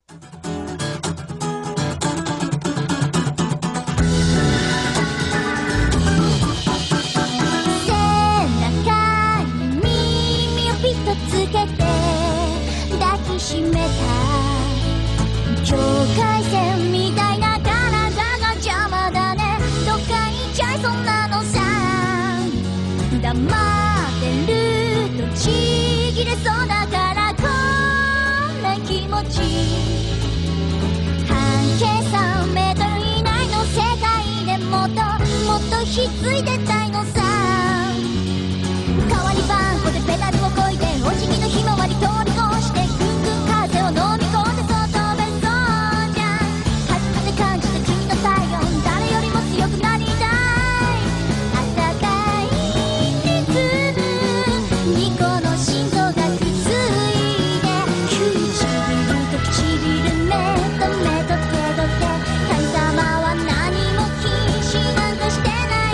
ひっついてたいのさ。代わりばんこでペダルをこいでお辞儀のひまわり通り越してぐんぐん風を飲み込んでそう飛べそうじゃん。初めて感じた君の体温、誰よりも強くなりたい。暖かいリズムにこの心臓がくっついて、唇と唇、目と目と手と手、神様は何も禁止なんかしてない。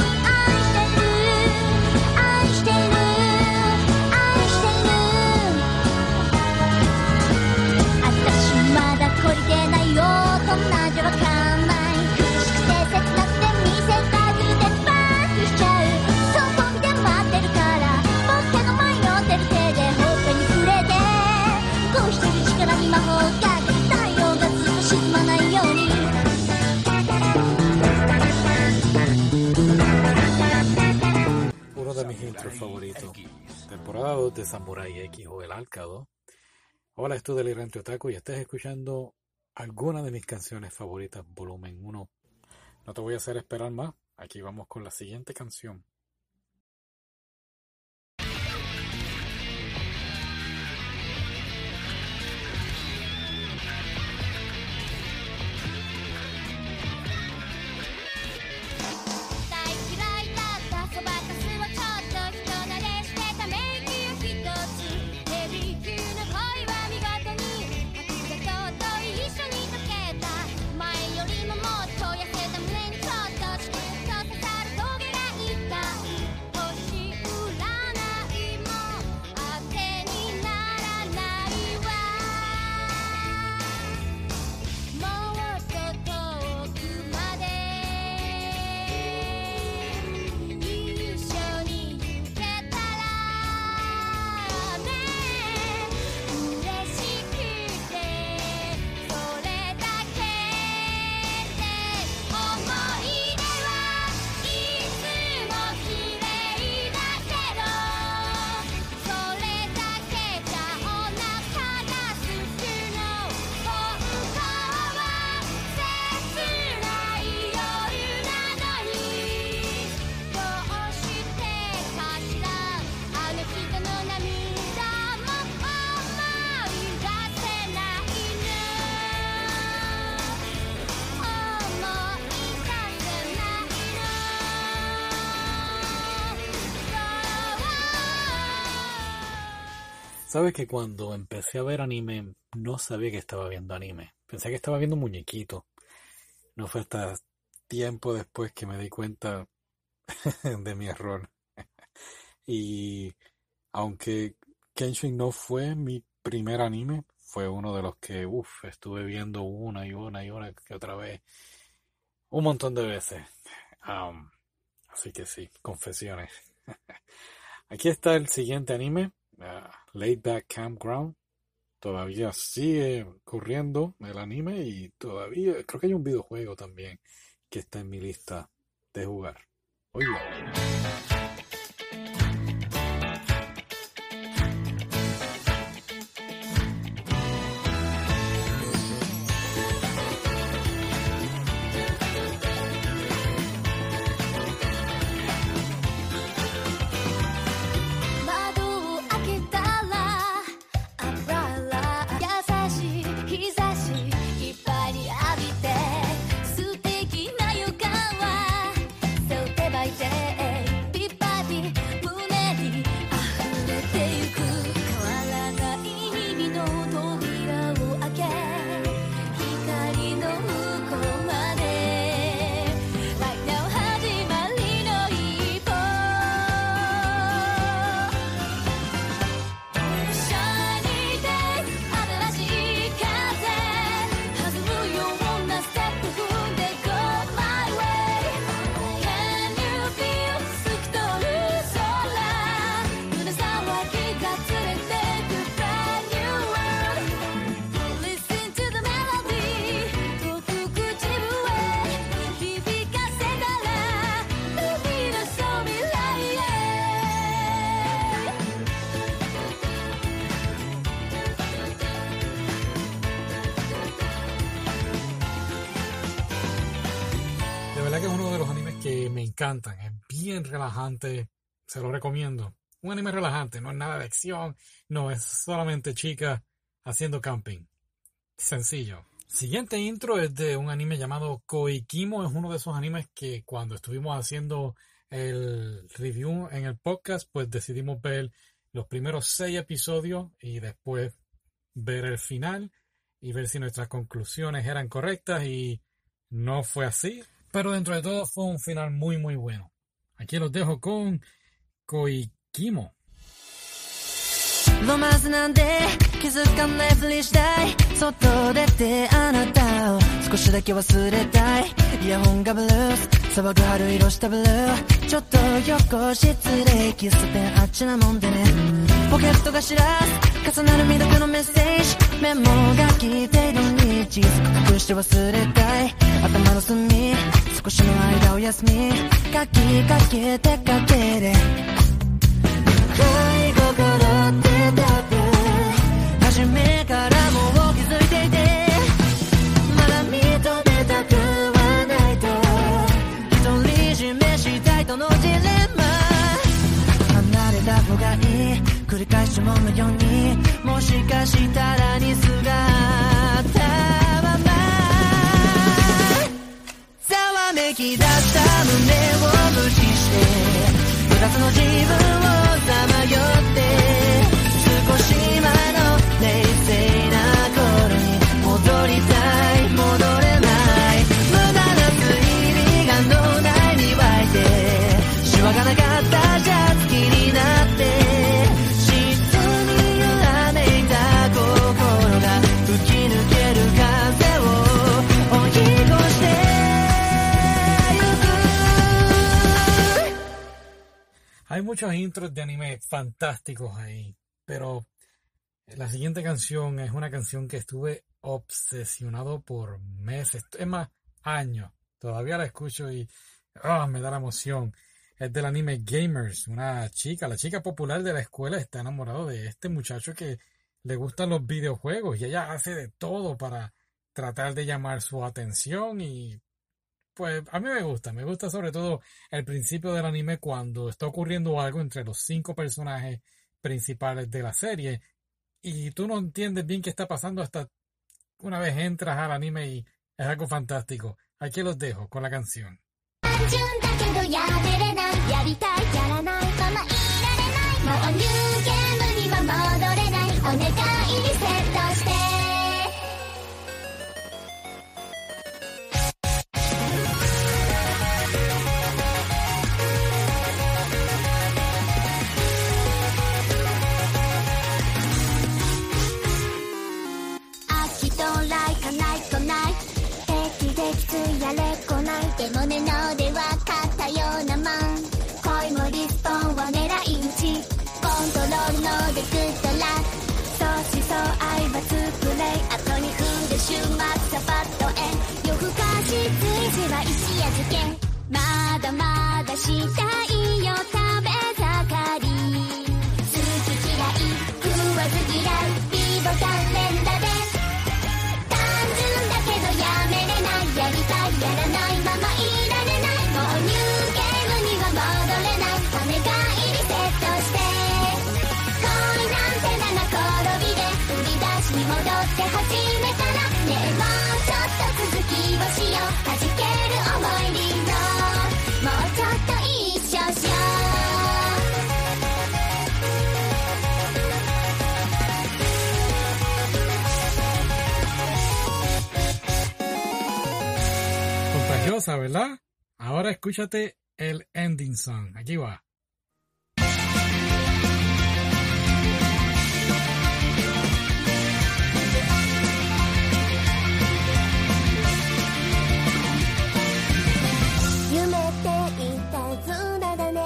愛してる愛してる愛してる。私まだ懲りてないよ、大人じゃわかんない。苦しくて切なくて見せたくてバックしちゃう。そこ見て待ってるから僕の前に乗ってる手でほっぺに触れて、こうしてる力に魔法がけ、太陽がずっと沈まないように。 Uno de mis intros favoritos, temporada 2 de Samurai X o El Arcado. Hola, esto es Delirante Otaku y estás escuchando alguna de mis canciones favoritas, volumen 1. No te voy a hacer esperar más, aquí vamos con la siguiente canción. Sabes que cuando empecé a ver anime no sabía que estaba viendo anime. Pensé que estaba viendo muñequitos. No fue hasta tiempo después que me di cuenta de mi error. Y aunque Kenshin no fue mi primer anime, fue uno de los que estuve viendo una y una que otra vez. Un montón de veces. Así que sí, confesiones. Aquí está el siguiente anime. Laid Back Campground. Todavía sigue corriendo el anime y todavía creo que hay un videojuego también que está en mi lista de jugar. Oye. People verdad que es uno de los animes que me encantan. Es bien relajante, se lo recomiendo. Un anime relajante, no es nada de acción, no es solamente chicas haciendo camping. Sencillo. Siguiente intro es de un anime llamado Koikimo. Es uno de esos animes que cuando estuvimos haciendo el review en el podcast, pues decidimos ver los primeros 6 episodios y después ver el final y ver si nuestras conclusiones eran correctas, y no fue así. Pero dentro de todo fue un final muy muy bueno. Aquí los dejo con Koikimo. ロマンスなんて気づかないふりしたい外出てあなたを少しだけ忘れたいイヤホンがブルース騒ぐ春色したブルーちょっと横失礼喫茶店あっちなもんでねポケットが知らす重なる未読のメッセージメモが来ているに小さく隠して忘れたい頭の隅少しの間を休み書きかけてかけれ恋心って初めからもう気づいていてまだ認めたくはないと独り占めしたいとのジレンマ離れた方がいい繰り返しものようにもしかしたらにすがったままざわめき出した胸を無視して二つの自分をさまよって少し前の冷静な頃に戻りたい戻れない無駄な推理が脳内に湧いてシワがなかったシャツ気になって質に揺らめいた心が吹き抜ける風を追い越してゆく Hay muchos intros de anime fantásticos ahí, pero la siguiente canción es una canción que estuve obsesionado por meses, es más, años. Todavía la escucho y me da la emoción. Es del anime Gamers. La chica popular de la escuela está enamorada de este muchacho que le gustan los videojuegos y ella hace de todo para tratar de llamar su atención y pues a mí me gusta sobre todo el principio del anime cuando está ocurriendo algo entre los 5 personajes principales de la serie y tú no entiendes bien qué está pasando hasta una vez entras al anime y es algo fantástico. Aquí los dejo con la canción. 単純だけどやめれないやりたいやらないままいられないもうニューゲームには戻れないお願いリセットしてやれこないでもねので分かったようなもん恋もリスポンを狙い撃ちコントロールのでグッドラック相思相愛は作れ後に振る週末サバッとへ夜更かし随時は一夜漬けまだまだしたいよ食べ盛り好き嫌い食わず嫌いビボタン連打で単純だけどやめれないやりたいやらないままいられないもうニューゲームには戻れないお願いリセットして恋なんて七転びで振り出しに戻って始めたらねえもうちょっと続きをしよう弾ける思いリードもうちょっと一緒しよう Contagiosa, ¿verdad? Ahora escúchate el ending song. Aquí va. 夢っていたずらだね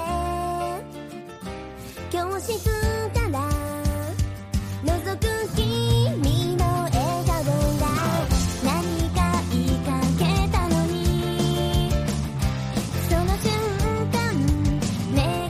教室から覗く君の笑顔が何か言いかけたのにその瞬間目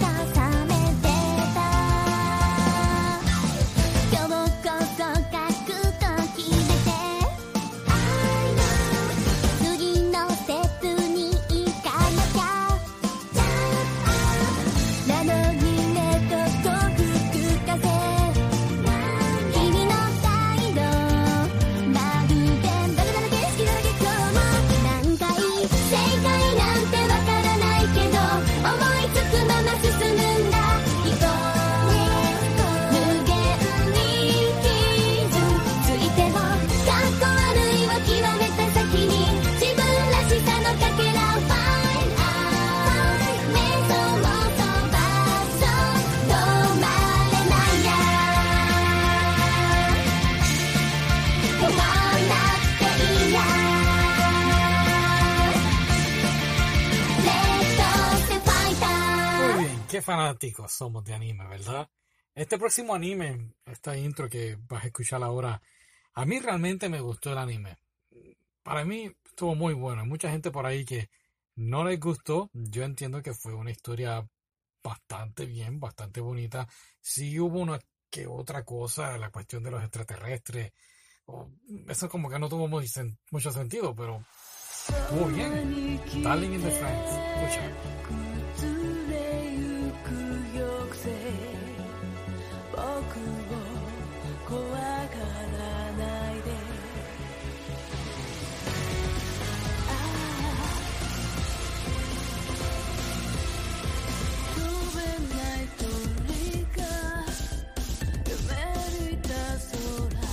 qué fanáticos somos de anime, ¿verdad? Este próximo anime, esta intro que vas a escuchar ahora, a mí realmente me gustó el anime. Para mí estuvo muy bueno. Hay mucha gente por ahí que no les gustó. Yo entiendo que fue una historia bastante bien, bastante bonita. Sí hubo una que otra cosa, la cuestión de los extraterrestres. Eso como que no tuvo mucho sentido, pero estuvo bien. Darling in the Franxx. Escucha. 崩れゆく抑制僕を怖がらないで飛べない鳥が夢抜いた空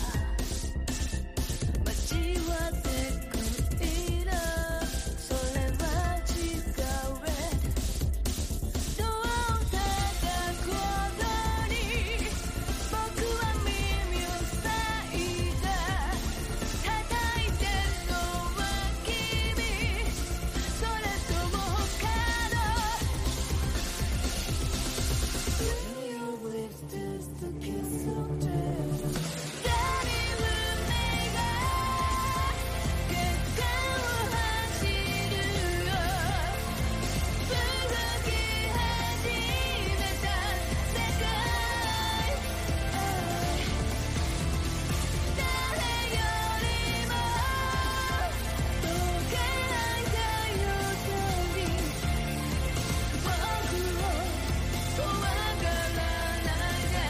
街は手くいらそれは違うどう叩く音に僕は耳を塞いだ叩いてるのは君それとも他の Your lips taste the kiss of death 誰も目が結果を走るよ動き始めた世界誰よりも溶けない太陽に僕を怖がらないで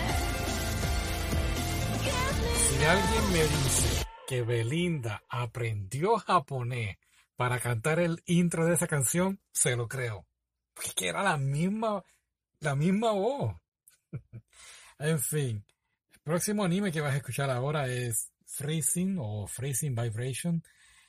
Si alguien me dice que Belinda aprendió japonés para cantar el intro de esa canción, se lo creo. Porque es que era la misma voz. En fin, el próximo anime que vas a escuchar ahora es Freezing o Freezing Vibration.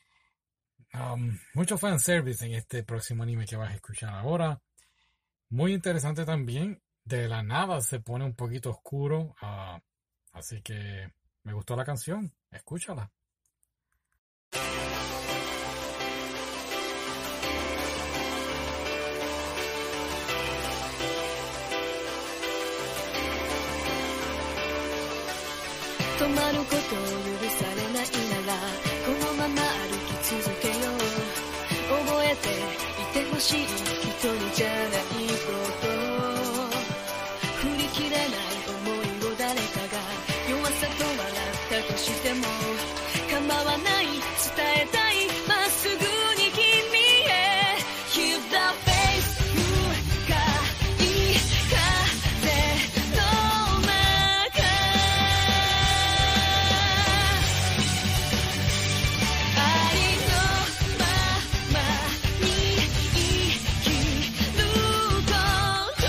Mucho fanservice en este próximo anime que vas a escuchar ahora. Muy interesante también. De la nada se pone un poquito oscuro. Así que me gustó la canción. Escúchala. 止まることを許されないならこのまま歩き続けよう覚えていてほしい一人じゃないこと振り切れない思いを誰かが弱さと笑ったとしても構わない伝えたいまっすぐに君へ Keep the faith 向かい風の中ありのままに生きること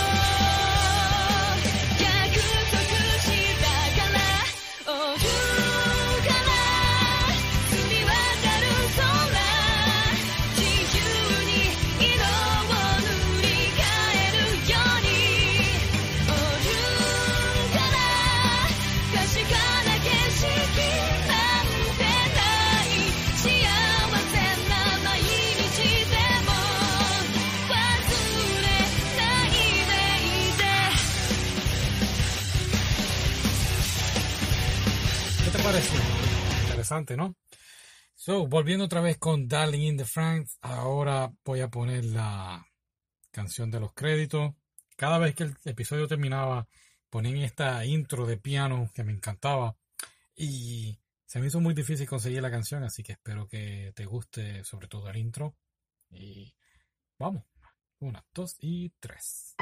約束したから追うから澄み渡る空自由に色を塗り替えるように追うから確かな景色なんてない幸せな毎日でも忘れないでいて ¿Qué te pareció? Interesante, ¿no? So, volviendo otra vez con Darling in the Franxx, ahora voy a poner la canción de los créditos. Cada vez que el episodio terminaba, ponían esta intro de piano que me encantaba y se me hizo muy difícil conseguir la canción, así que espero que te guste sobre todo el intro. Y vamos, 1, 2 y 3.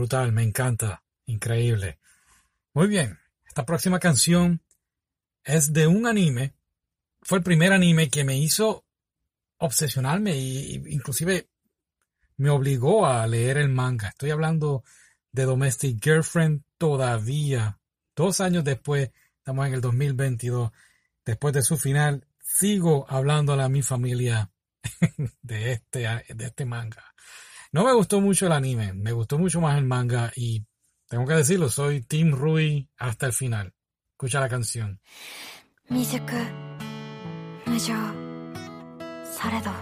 brutal, me encanta, increíble. Muy bien, esta próxima canción es de un anime. Fue el primer anime que me hizo obsesionarme e inclusive me obligó a leer el manga. Estoy hablando de Domestic Girlfriend todavía. 2 años después, estamos en el 2022. Después de su final, sigo hablándole a mi familia de este manga. No me gustó mucho el anime, me gustó mucho más el manga y tengo que decirlo, soy Team Rui hasta el final. Escucha la canción. 未熟無情されど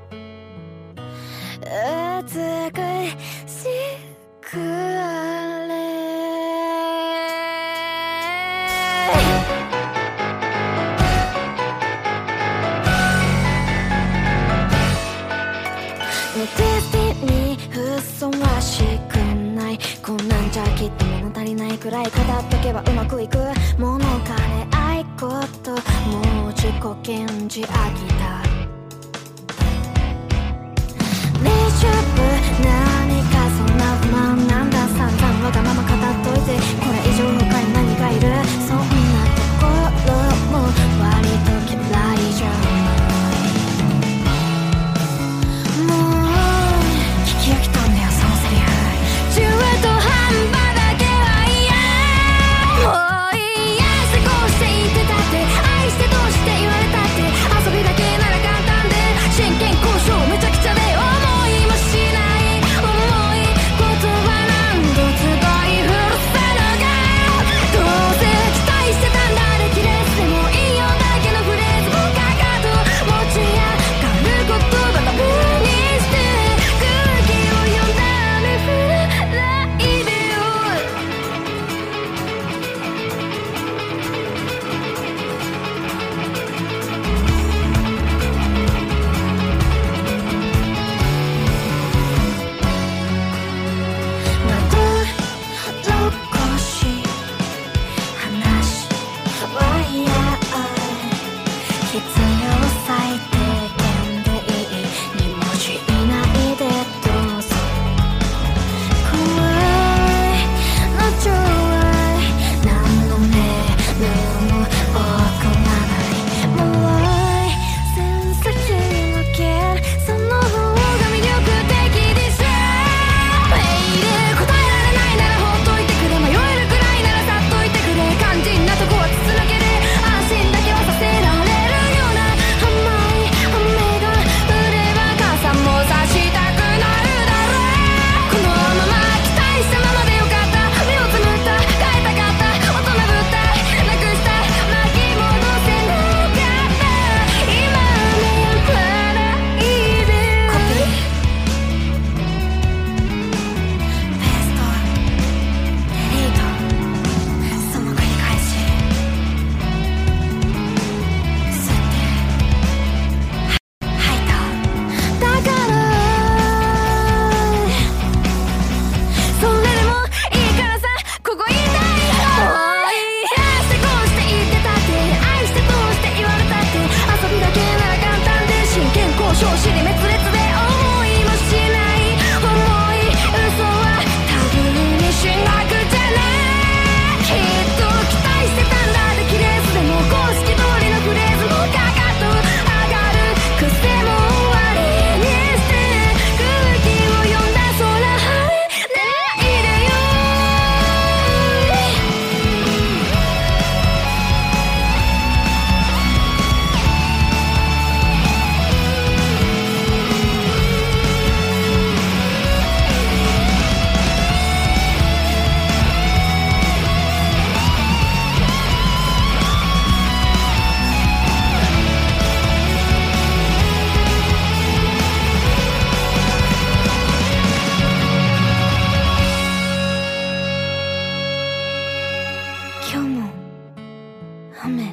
美しくあれデスティニーふさわしくないこんなんじゃきっと物足りないくらい語っとけばうまくいく物金愛こともう自己顕示飽きたレシュープ何かそんな不満なんだ散々わがまま語っといてこれ以上他に何がいるそんなところも割と嫌いじゃもう聞き飽きたんだよそのセリフ中途半端だけは嫌もういいやしてこうして言ってたって愛してどうして言われたって遊びだけなら簡単で真剣交渉めちゃくちゃで思いもしない重い言葉何度使い古せるかどうせ期待してたんだレキレスでもいいよだけのフレーズもかかと持ち上がる言葉タブーにして空気を読んだ雨降らないでよまどろこしい話はや必要最低限でいい2文字以内でどうぞ怖いのちょい何のメールも送らないもうセンス広げその方が魅力的でしょメール答えられないならほっといてくれ迷えるくらいならさっといてくれ肝心なとこは筒抜けで安心だけはさせられるような甘い雨が降れば傘も差したくなるだろうこのまま期待したままでよかった目をつむった変えたかった大人ぶったなくした巻き戻せなかった今目やらないでコピーペーストデリートその繰り返し吸って吐いただからそれでもいいからさここ言いたい愛してこうして言ってたって愛してどうして言われたって遊びだけなら簡単で真剣交渉尻滅裂で思いもしない重い嘘はタブーにしなくちゃなきっと期待してたんだでキレースでも公式通りのフレーズもかかと上がる癖も終わりにして空気を読んだ空晴れないでよ今日も雨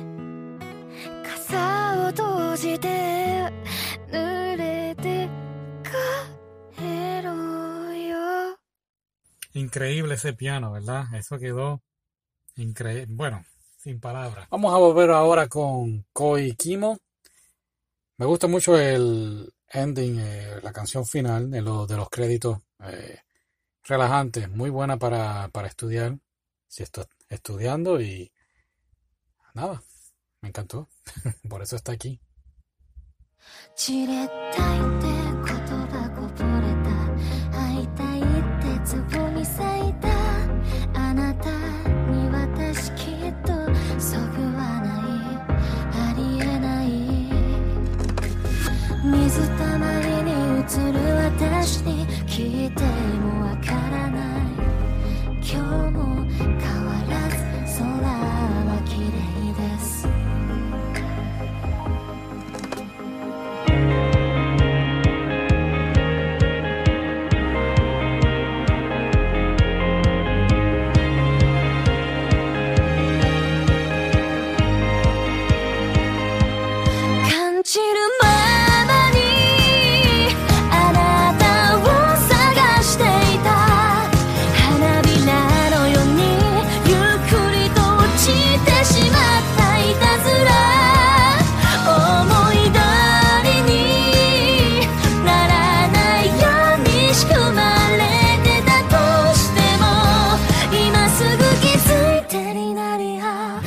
傘を閉じて濡れて帰ろうよ Increíble ese piano, ¿verdad? Eso quedó increíble. Bueno, sin palabras. Vamos a volver ahora con Koi Kimo. Me gusta mucho el ending, la canción final de los créditos. relajante, muy buena para estudiar, si estoy estudiando y nada, me encantó, por eso está aquí. 散れたいって言葉こぼれた会いたいってつぼみ咲いたあなたに私きっとそぐわないありえない水たまりに映る私に聞いてもわからない今日も変わらず空は綺麗です感じるままにあなたを探していた花びらのようにゆっくりと落ちてしまったいたずら思い通りにならないように仕組まれてたとしても今すぐ気づいてになりゃ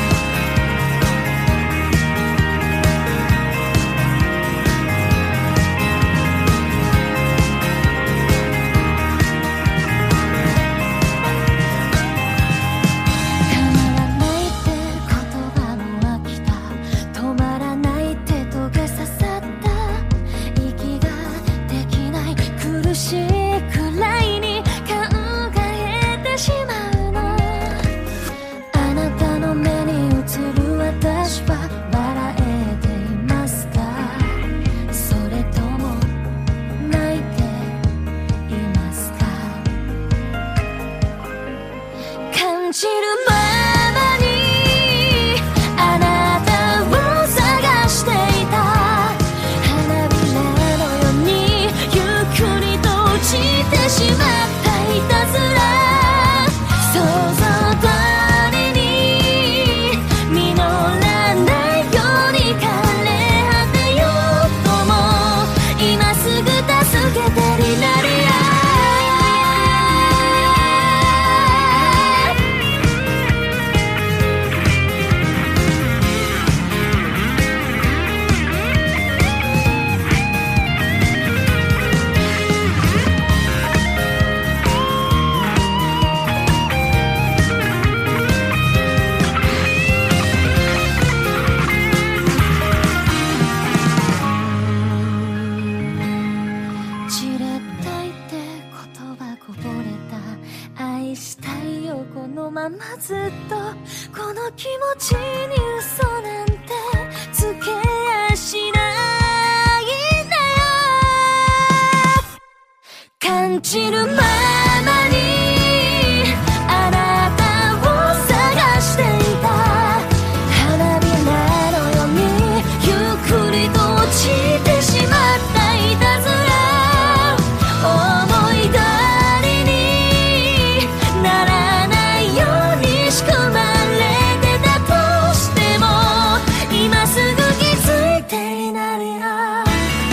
止まらないって言葉も飽きた止まらないってトゲ刺さった息ができない苦しいくらいに考えてしまうのあなたの目に映る私は笑えていますかそれとも泣いていますか感じるままにあなたを探していた花びらのようにゆっくりと落ちてしまったいたずら想像通りに実らないように枯れ果てようとも今すぐ助けてになりゃ散れたいって言葉こぼれた愛したいよこのままずっとこの気持ちに嘘なんてつけやしないんだよ感じるままにあなたを探していた花びらのようにゆっくりと落ちてしまったいたずら思い通りにならないように仕組まれてたとしても今すぐ気づいてになりゃ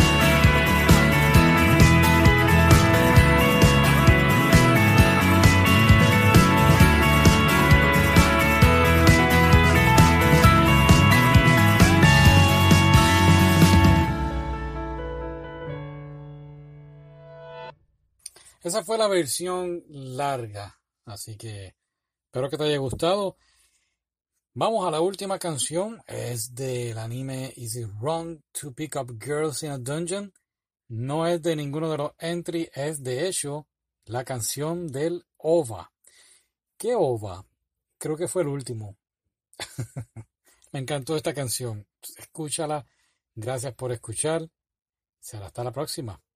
Esa fue la versión larga, así que espero que te haya gustado. Vamos a la última canción, es del anime Is It Wrong to Pick Up Girls in a Dungeon? No es de ninguno de los entries, es de hecho la canción del OVA. ¿Qué OVA? Creo que fue el último. Me encantó esta canción. Escúchala. Gracias por escuchar. Será hasta la próxima.